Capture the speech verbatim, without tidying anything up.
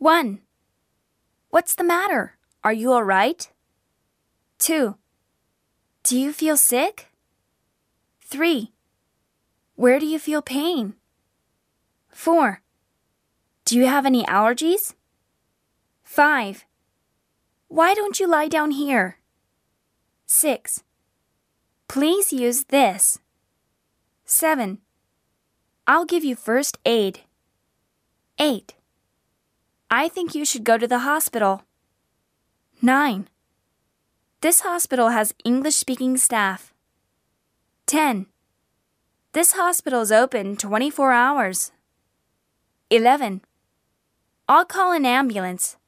one. What's the matter? Are you all right? two. Do you feel sick? three. Where do you feel pain? four. Do you have any allergies? five. Why don't you lie down here? six. Please use this. seven. I'll give you first aid. eight. I think you should go to the hospital. nine. This hospital has English-speaking staff. ten. This hospital is open twenty-four hours. eleven. I'll call an ambulance.